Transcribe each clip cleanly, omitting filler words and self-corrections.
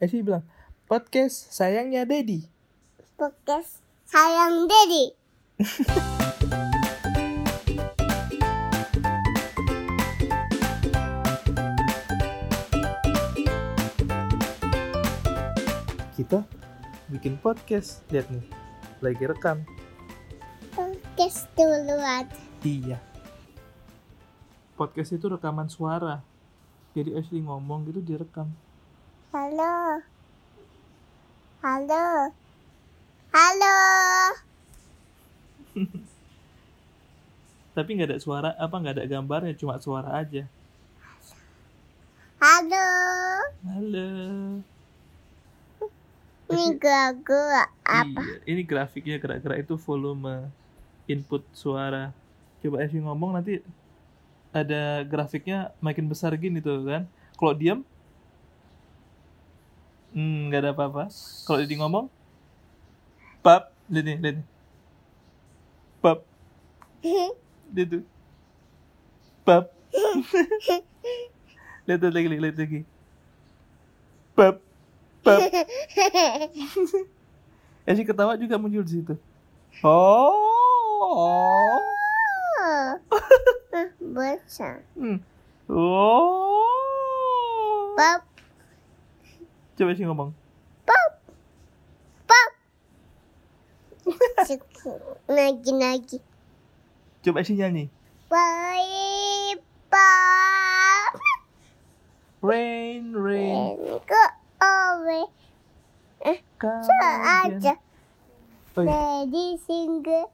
Ashley bilang, podcast sayangnya Daddy. Podcast sayang Daddy. Kita bikin podcast, lihat nih, lagi rekam. Podcast duluan. Iya. Podcast itu rekaman suara. Jadi Ashley ngomong gitu direkam. Halo. Halo. Halo. Tapi nggak ada suara, nggak ada gambarnya, cuma suara aja. Halo. Halo. Ini gerak-gerak apa? Iya, ini grafiknya gerak-gerak itu volume input suara. Coba Ashley ngomong nanti ada grafiknya makin besar gini tuh kan. Kalau diam nggak ada apa-apa. Kalau dia ngomong pap, lihat nih. Pap. Dia tuh. Pap. lihat lagi. Pap. Pap. Ashley ketawa juga muncul di situ. Oh. Baca. Oh. Pap. Coba sih ngomong. Pap. Lagi. Coba sih nyanyi. Baik, Pap. Rain. Go away. Aja. Daddy single.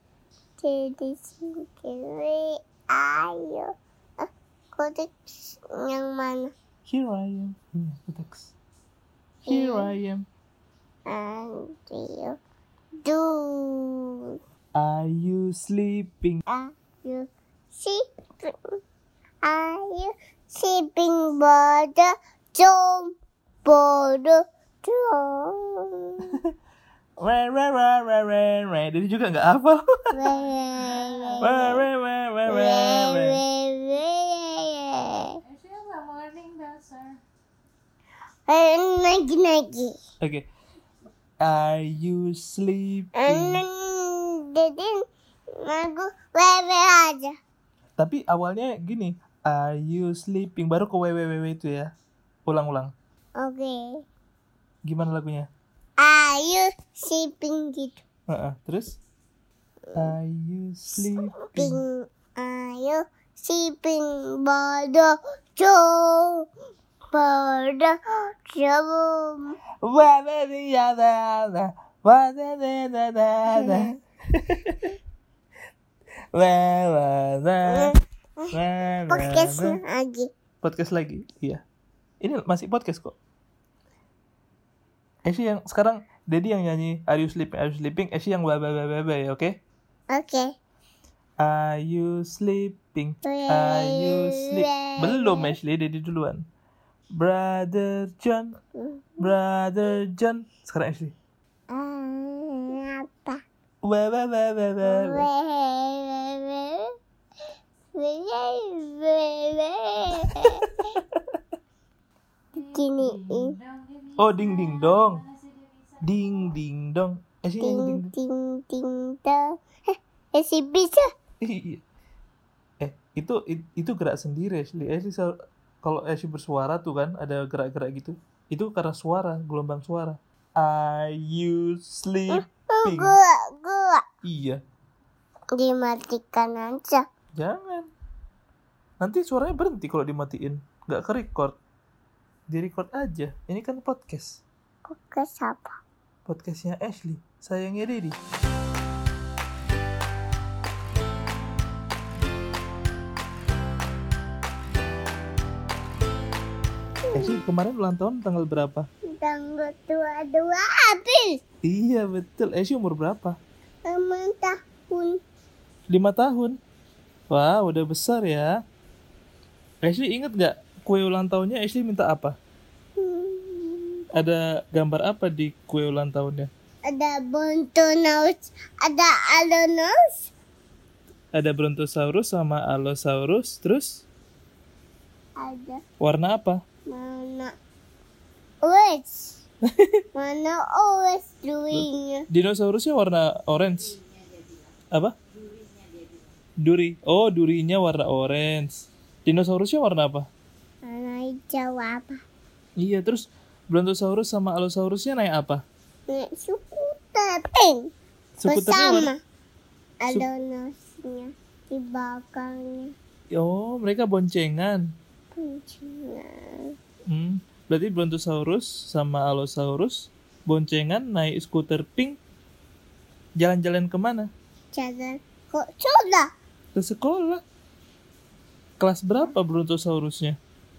Ayo. Kotek yang mana? Here I am. Kotek. Here I am. And you do. Are you sleeping? Are you sleeping, brother? Jom, brother. Rain. Jadi juga nggak hafal. Lagi. Okay. Are you sleeping? Jadi lagu wewe aja. Tapi awalnya gini. Are you sleeping? Baru ke www itu ya. Ulang. Oke. Gimana lagunya? Are you sleeping gitu? Terus? Are you sleeping? Are you sleeping, brother? Jom, brother. Jom. Podcast lagi. Iya. Ini masih podcast kok. Ashley yang sekarang Daddy yang nyanyi Are you sleeping? Ashley yang bye ya, oke? Oke. Are you sleeping? Are you sleeping? Belum Ashley, Daddy duluan. Brother John. Sekarang Ashley. Apa? Giniin. Oh, ding dong. Ashley nyanyi Ding dong. Si bisa. Iya. Itu gerak sendiri Ashley. Kalau Ashley bersuara tuh kan ada gerak-gerak gitu. Itu karena suara, gelombang suara. Are you sleeping? Gua. Iya. Dimatikan aja. Jangan. Nanti suaranya berhenti kalau dimatiin. Nggak ke-record. Di-record aja. Ini kan podcast. Podcast apa? Podcastnya Ashley. Sayangnya Daddy. Ashley kemarin ulang tahun tanggal berapa? Tanggal 22 April. Iya betul. Ashley umur berapa? 5 tahun. 5 tahun. Wah, udah besar ya. Ashley inget gak kue ulang tahunnya Ashley minta apa? Ada gambar apa di kue ulang tahunnya? Ada Brontosaurus, ada Allosaurus. Ada Brontosaurus sama Allosaurus. Terus? Ada Warna apa? mana? Orange. Mana always doing? Dinosaurusnya warna orange. Apa? Duri. Oh, durinya warna orange. Dinosaurusnya warna apa? Mana hijau apa? Iya, terus Brontosaurus sama Allosaurusnya naik apa? Naik skuter pink. Skuternya warna... Bersama. Ada nasinya di belakangnya. Oh, mereka boncengan. Kuncinya. Berarti Brontosaurus sama Allosaurus boncengan naik skuter pink. Jalan-jalan kemana? Jalan kok sudah? Ke sekolah. Kelas berapa Brontosaurusnya?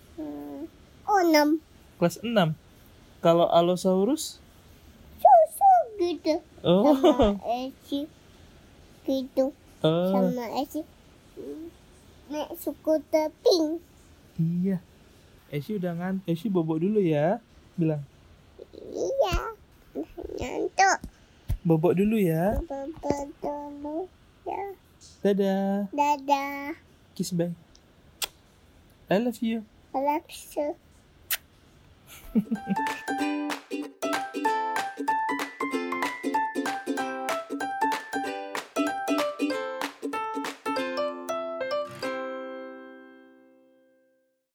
6. Kelas 6. Kalau Allosaurus? Susu gitu. Oh. Sama Eci gitu. Oh. Sama Eci naik skuter pink. Iya. Esy udah ngantuk. Esy bobok dulu ya. Bilang. Iya. Nyantuk. Bobok dulu ya. Bapak dulu ya. Dadah. Dadah. Kiss bye. I love you. I love you.